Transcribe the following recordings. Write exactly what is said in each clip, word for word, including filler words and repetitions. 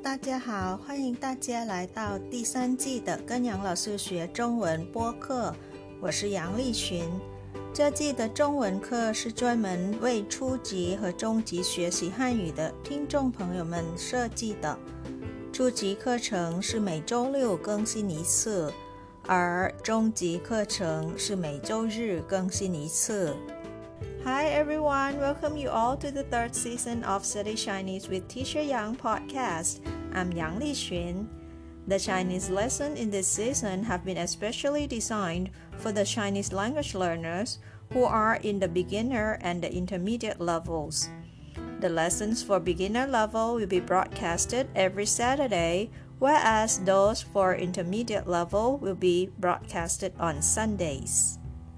大家好，欢迎大家来到第三季的跟杨老师学中文播客，我是杨丽群。这季的中文课是专门为初级和中级学习汉语的听众朋友们设计的。初级课程是每周六更新一次，而中级课程是每周日更新一次。Hi everyone, welcome you all to the third season of Study Chinese with Teacher Yang podcast. I'm Yang Lixun. The Chinese lessons in this season have been especially designed for the Chinese language learners who are in the beginner and the intermediate levels. The lessons for beginner level will be broadcasted every Saturday, whereas those for intermediate level will be broadcasted on Sundays.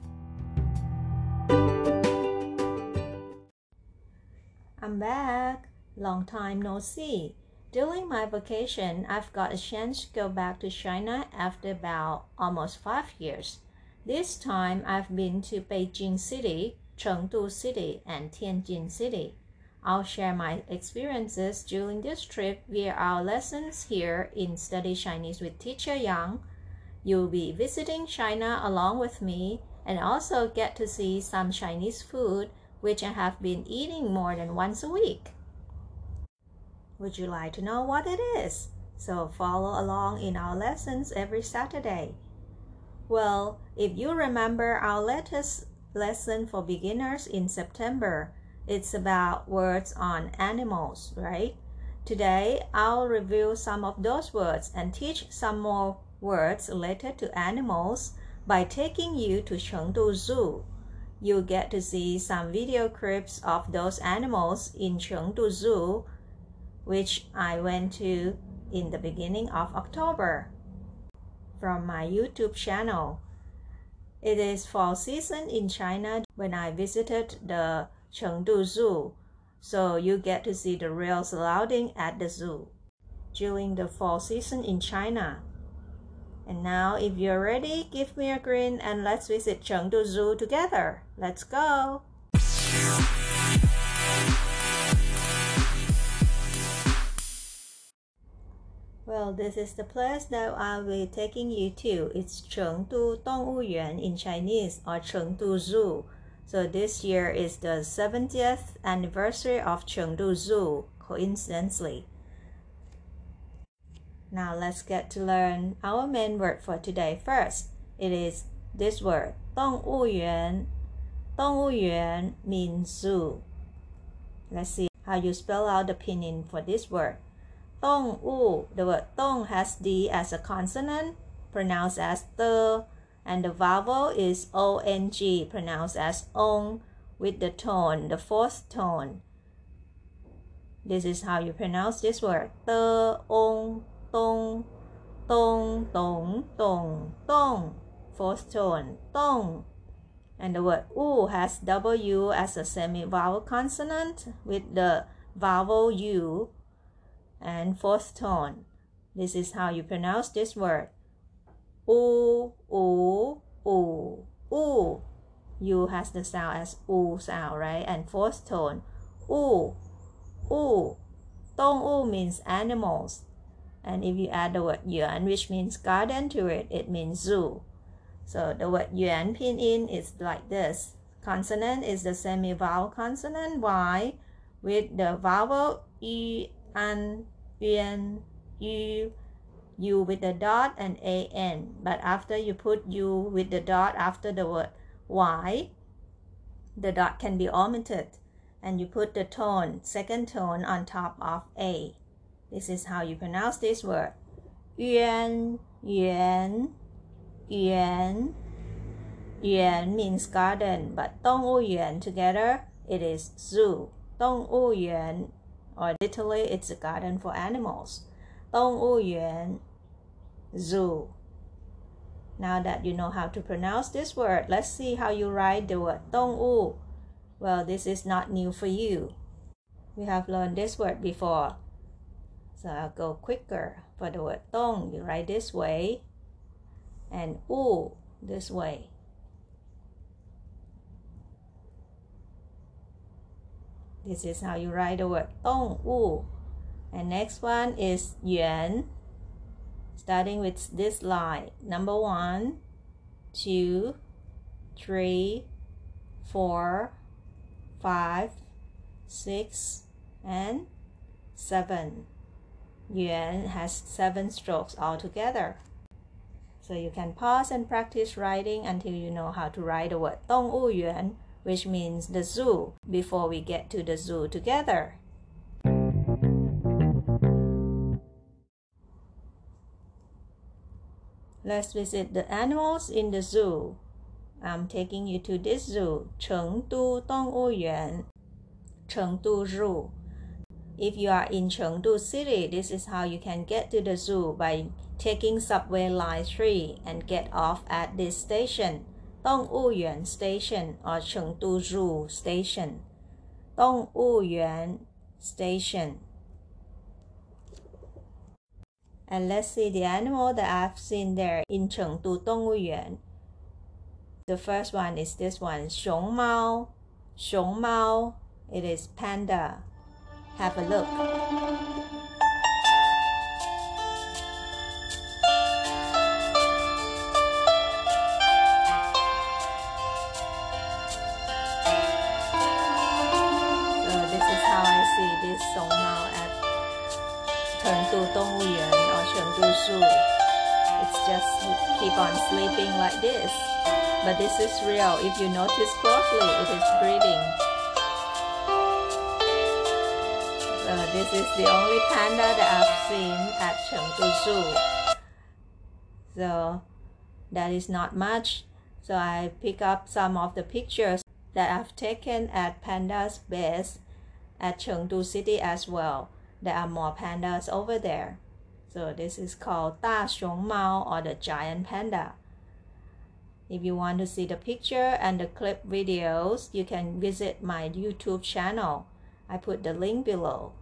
I'm back. Long time no see. During my vacation, I've got a chance to go back to China after about almost five years. This time, I've been to Beijing City, Chengdu City, and Tianjin City. I'll share my experiences during this trip via our lessons here in Study Chinese with Teacher Yang. You'll be visiting China along with me and also get to see some Chinese food which I have been eating more than once a week. Would you like to know what it is? So follow along in our lessons every Saturday. Well, if you remember our latest lesson for beginners in September, it's about words on animals, right? Today, I'll review some of those words and teach some more words related to animals by taking you to Chengdu Zoo. You'll get to see some video clips of those animals in Chengdu Zoo, which I went to in the beginning of October from my YouTube channel. It is fall season in China when I visited the Chengdu Zoo, so you get to see the real surrounding at the zoo during the fall season in China. And now, if you're ready, give me a grin and let's visit Chengdu Zoo together. Let's go! Well, this is the place that I'll be taking you to. It's Chengdu Dongwuyuan in Chinese, or Chengdu Zoo. So this year is the seventieth anniversary of Chengdu Zoo, coincidentally. Now let's get to learn our main word for today first. It is this word, 动物园. 动物园 means zoo. Let's see how you spell out the pinyin for this word. 动物, the word 动 has D as a consonant, pronounced as the, and the vowel is O N G, pronounced as ong, with the tone, the fourth tone. This is how you pronounce this word, 的 ong. 咚咚咚咚咚, fourth tone, 咚. And the word u has W as a semi-vowel consonant with the vowel U and fourth tone. This is how you pronounce this word. U, u, u, u. U has the sound as U sound, right? And fourth tone, u, u. 动物 means animals. And if you add the word yuan, which means garden, to it, it means zoo. So the word yuan pinyin is like this. Consonant is the semi-vowel consonant Y with the vowel yu, an, yuan, yu, u with the dot and an. But after you put u with the dot after the word Y, the dot can be omitted. And you put the tone, second tone, on top of A. This is how you pronounce this word. Yuan, yuan, yuan. Yuan means garden, but 动物园 together, it is zoo. 动物园, or literally, it's a garden for animals. 动物园, zoo. Now that you know how to pronounce this word, let's see how you write the word 动物. Well, this is not new for you. We have learned this word before. So I'll go quicker. For the word 动, you write this way, and 物 this way. This is how you write the word 动物. And next one is yuan, starting with this line. Number one, two, three, four, five, six, and seven. Yuan has seven strokes altogether. So you can pause and practice writing until you know how to write the word 动物园, which means the zoo, before we get to the zoo together. Let's visit the animals in the zoo. I'm taking you to this zoo, Chengdu 动物园, Chengdu Zoo. If you are in Chengdu City, this is how you can get to the zoo by taking subway line three and get off at this station, 动物园 Station or Chengdu Zoo Station. 动物园 Station. And let's see the animal that I've seen there in Chengdu 动物园. The first one is this one, 熊猫, 熊猫. It is panda. Have a look. So this is how I see this 熊猫at Chengdu 动物园 or Chengdu Zoo. It's just keep on sleeping like this. But this is real. If you notice closely, it is breathing. So this is the only panda that I've seen at Chengdu Zoo. So that is not much. So I pick up some of the pictures that I've taken at pandas base at Chengdu City as well. There are more pandas over there. So this is called 大熊猫 or the giant panda. If you want to see the picture and the clip videos, you can visit my YouTube channel. I put the link below.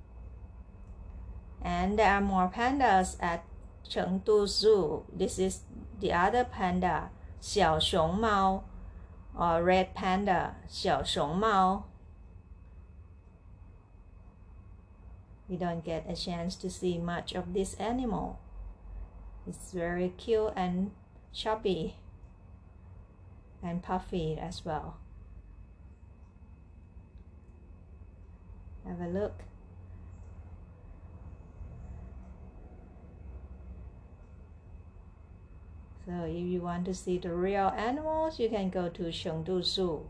And there are more pandas at Chengdu Zoo. This is the other panda, 小熊猫 or red panda, 小熊猫. We don't get a chance to see much of this animal. It's very cute and chubby and puffy as well. Have a look. So if you want to see the real animals, you can go to Chengdu Zoo.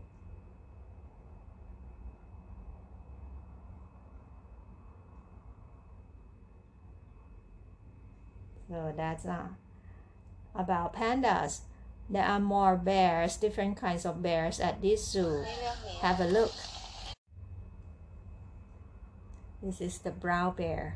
So that's uh, about pandas. There are more bears, different kinds of bears at this zoo. Have a look. This is the brown bear.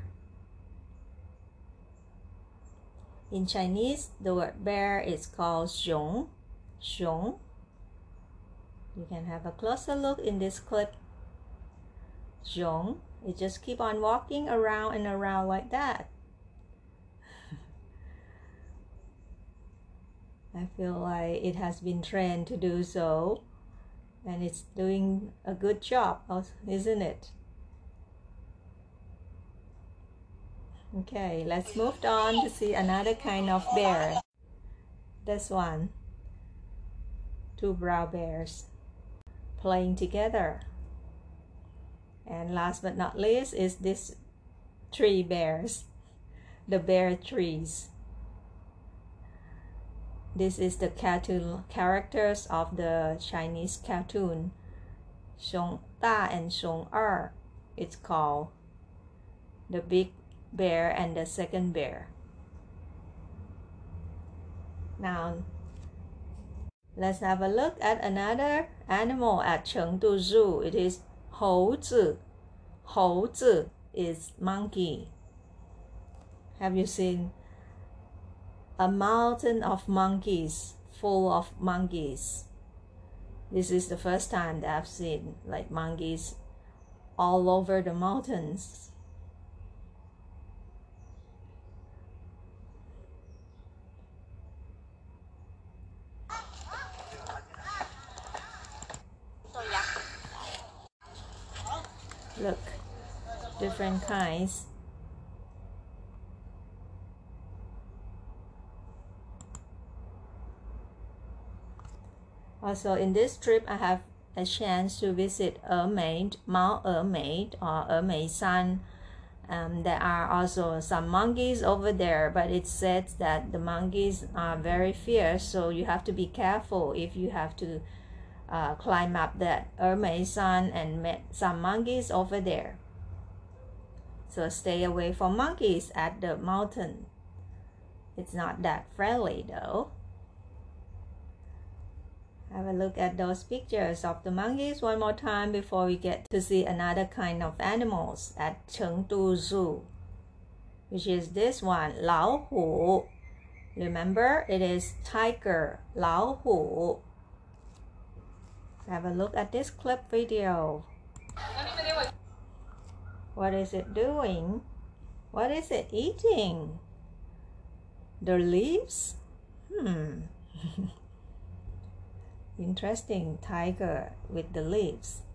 In Chinese, the word bear is called 熊, 熊. You can have a closer look in this clip. 熊. It just keep on walking around and around like that. I feel like it has been trained to do so, and it's doing a good job, isn't it? Okay, let's move on to see another kind of bear. This one. Two brown bears playing together. And last but not least is this three bears, the bear trees. This is the cartoon characters of the Chinese cartoon, 熊大 and 熊二, it's called. The big bear and the second bear. Now, let's have a look at another animal at Chengdu Zoo. It is 猴子. 猴子 is monkey. Have you seen a mountain of monkeys, full of monkeys? This is the first time that I've seen like monkeys all over the mountains. Look, different kinds Also, in this trip, I have a chance to visit Ermaid, Mount Ermaid or Ermeisan. Um, there are also some monkeys over there, but it says that the monkeys are very fierce, so you have to be careful if you have to uh, climb up that Ermeisan and met some monkeys over there. So stay away from monkeys at the mountain. It's not that friendly though. Have a look at those pictures of the monkeys one more time before we get to see another kind of animals at Chengdu Zoo, which is this one, 老虎. Remember, it is tiger, 老虎. Have a look at this clip video. What is it doing? What is it eating? The leaves? Hmm. Interesting, tiger with the leaves.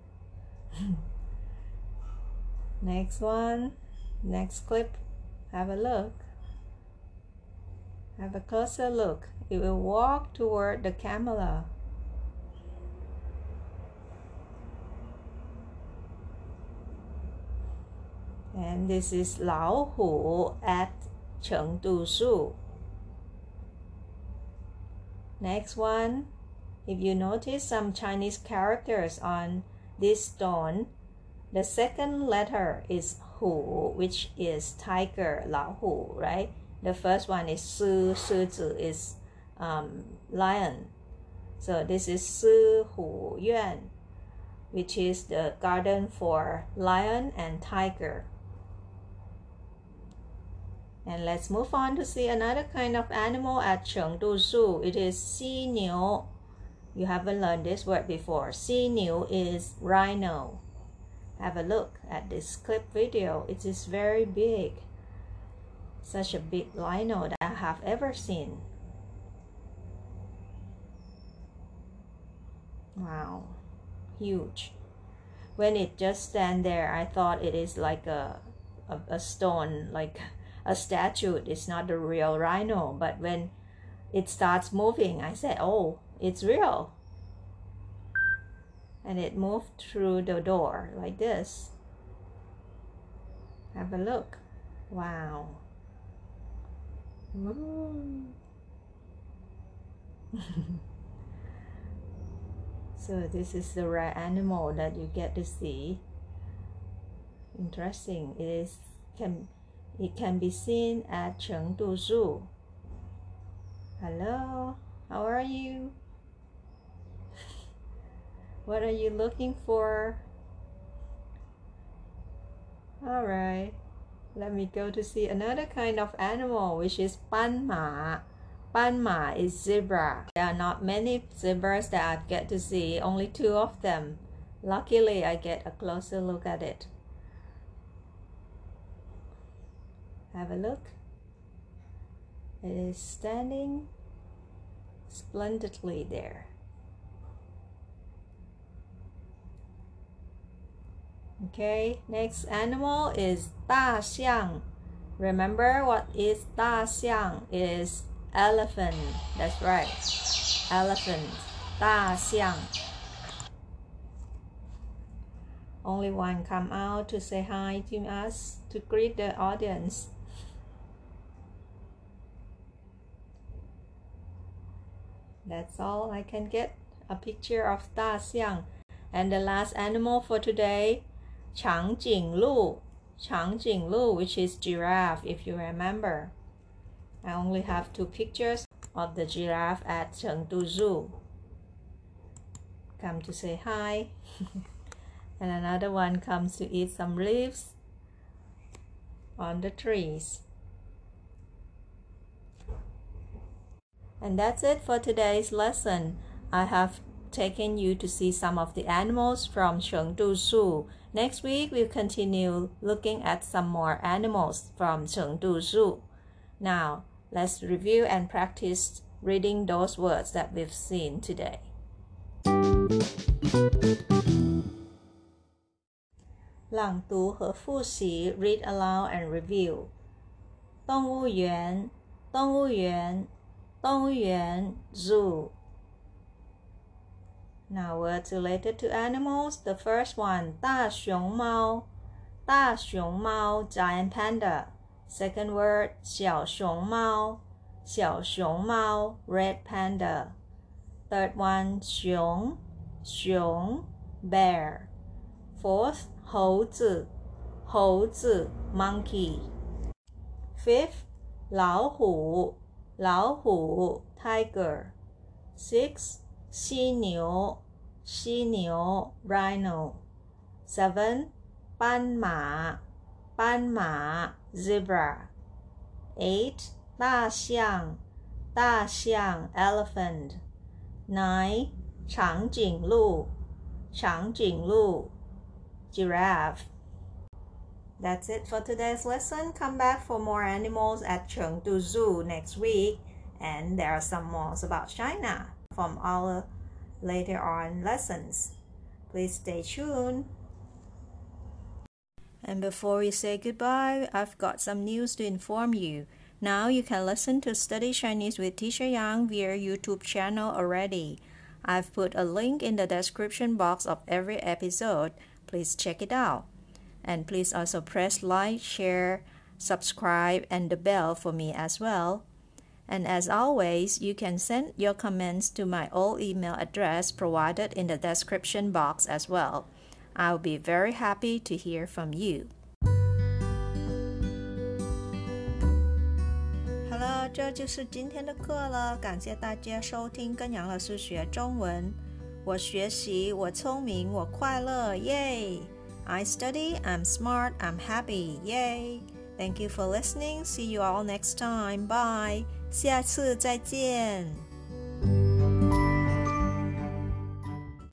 Next one, next clip. Have a look. Have a closer look. It will walk toward the camera. And this is 老虎 at Chengdu Zoo. Next one, if you notice some Chinese characters on this stone, the second letter is hu, which is tiger, 老虎, right? The first one is shi, 狮子 is um, lion. So this is shi hu yuan, which is the garden for lion and tiger. And let's move on to see another kind of animal at Chengdu Zoo. It is xi niu. You haven't learned this word before. Xi niu is rhino. Have a look at this clip video. It is very big. Such a big rhino that I have ever seen. Wow, huge. When it just stand there, I thought it is like a, a, a stone, like a statue. It's not the real rhino, but when it starts moving, I said, oh, it's real. And it moved through the door like this. Have a look. Wow. So this is the rare animal that you get to see. Interesting. It is can it can be seen at Chengdu Zoo. Hello, how are you? What are you looking for? All right, let me go to see another kind of animal, which is banma. Banma is zebra. There are not many zebras that I get to see, only two of them. Luckily, I get a closer look at it. Have a look. It is standing splendidly there. Okay, next animal is 大象. Remember what is 大象? It is elephant. That's right. Elephant. 大象. Only one come out to say hi to us, to greet the audience. That's all I can get. A picture of 大象. And the last animal for today, 长颈鹿. 长颈鹿, which is giraffe, if you remember. I only have two pictures of the giraffe at Chengdu Zoo. Come to say hi. And another one comes to eat some leaves on the trees. And that's it for today's lesson. I have taken you to see some of the animals from Chengdu Zoo. Next week, we'll continue looking at some more animals from Chengdu Zoo. Now, let's review and practice reading those words that we've seen today. 朗读和复习 Read aloud and review. 动物园，动物园，动物园 Zoo. Now words related to animals. The first one, 大熊猫大熊猫 giant panda. Second word, 小熊猫小熊猫 red panda. Third one, 熊熊 bear. Fourth, 猴子猴子 monkey. Fifth, 老虎老虎 tiger. Six, 犀牛犀牛 rhino. Seven, 斑马斑马 zebra. Eight, 大象大象 elephant. Nine, 长颈鹿长颈鹿 giraffe. That's it for today's lesson. Come back for more animals at Chengdu Zoo next week. And there are some more about China from our later on lessons. Please stay tuned. And before we say goodbye, I've got some news to inform you. Now you can listen to Study Chinese with Teacher Yang via YouTube channel already. I've put a link in the description box of every episode. Please check it out. And please also press like, share, subscribe, and the bell for me as well. And as always, you can send your comments to my old email address provided in the description box as well. I'll be very happy to hear from you. Hello， 这就是今天的课了，感谢大家收听跟杨老师学中文。我学习，我聪明，我快乐，耶！ I study, I'm smart, I'm happy, yay! Thank you for listening. See you all next time. Bye. 下次再见。